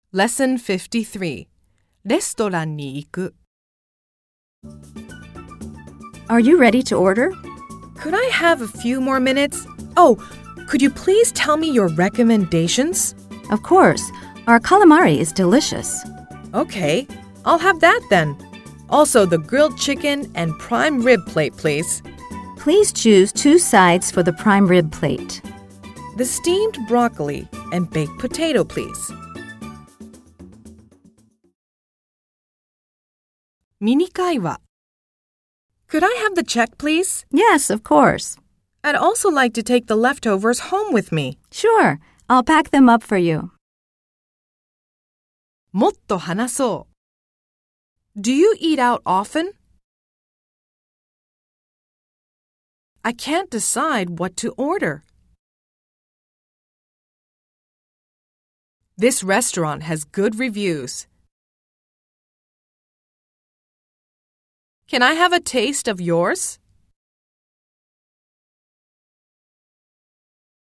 Lesson 53 レストランに行く Are you ready to order? Could I have a few more minutes? Oh, could you please tell me your recommendations? Of course. Our calamari is delicious. Okay, I'll have that then. Also, the grilled chicken and prime rib plate, please. Please choose 2 sides for the prime rib plate. The steamed broccoli and baked potato, please. ミニ会話 Could I have the check, please? Yes, of course. I'd also like to take the leftovers home with me. Sure. I'll pack them up for you. もっと話そう Do you eat out often? I can't decide what to order. This restaurant has good reviews. Can I have a taste of yours?